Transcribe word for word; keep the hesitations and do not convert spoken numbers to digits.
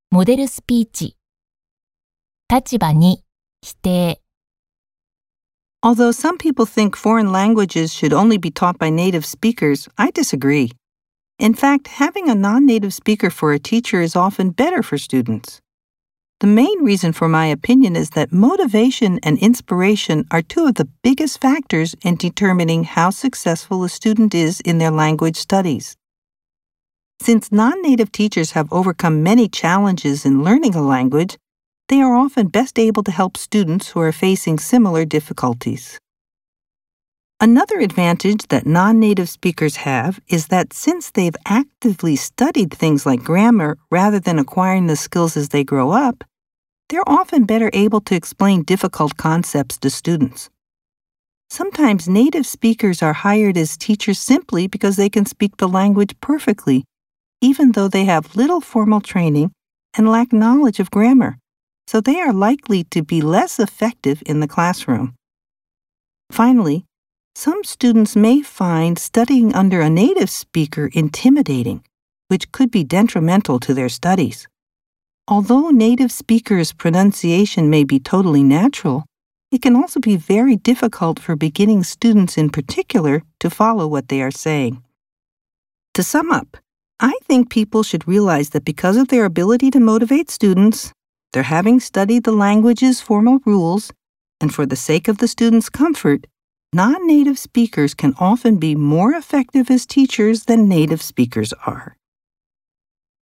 モデルスピーチ。立場に否定。 Although some people think foreign languages should only be taught by native speakers, I disagree. In fact, having a non-native speaker for a teacher is often better for students. The main reason for my opinion is that motivation and inspiration are two of the biggest factors in determining how successful a student is in their language studies. Since non-native teachers have overcome many challenges in learning a language, they are often best able to help students who are facing similar difficulties. Another advantage that non-native speakers have is that since they've actively studied things like grammar rather than acquiring the skills as they grow up, they're often better able to explain difficult concepts to students. Sometimes native speakers are hired as teachers simply because they can speak the language perfectly, even though they have little formal training and lack knowledge of grammar, so they are likely to be less effective in the classroom. Finally, some students may find studying under a native speaker intimidating, which could be detrimental to their studies. Although native speakers' pronunciation may be totally natural, it can also be very difficult for beginning students in particular to follow what they are saying. To sum up, I think people should realize that because of their ability to motivate students, their having studied the language's formal rules, and for the sake of the students' comfort, non-native speakers can often be more effective as teachers than native speakers are.